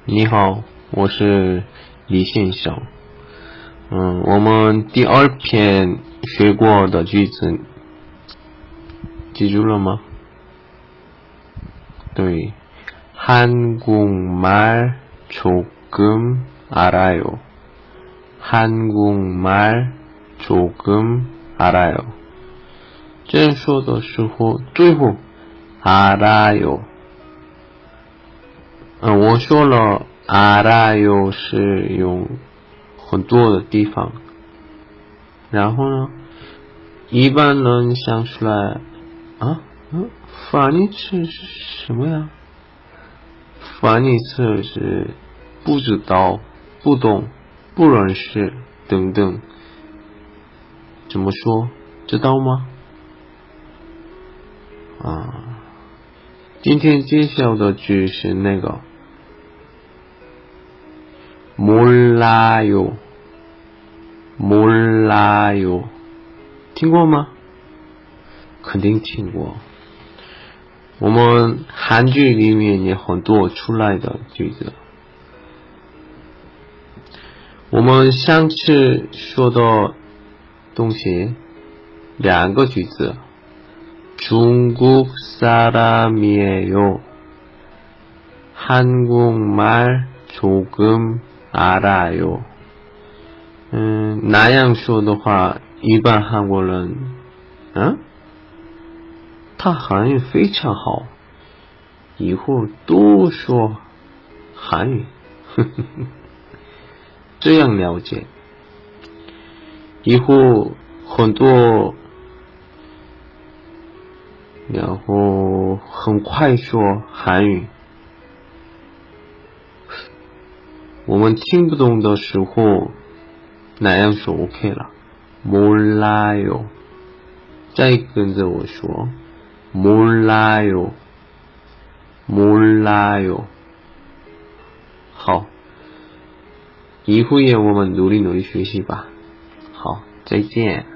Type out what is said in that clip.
你好，我是李先生。我们第二篇学过的句子记住了吗？对，한국말 조금 알아요. 한국말 조금 알아요. 这样说的时候，最后 알아요。我说了 알아요 是用很多的地方，然后呢，一般人想出来翻译词是什么呀？翻译词是不知道、不懂、不认识等等。怎么说？知道吗？今天介绍的句是那个몰라요，听过吗？肯定听过。我们韩剧里面也很多出来的句子。我们上次说的东西两个句子，중국 사람이에요. 한국말 조금 알아요. 那样说的话，一般韩国人，他韩语非常好，以后多说韩语，这样了解，以后很多，然后很快说韩语。我们听不懂的时候，那样说 OK 了。몰라요，再跟着我说。몰라요，好，以后也我们努力学习吧。好，再见。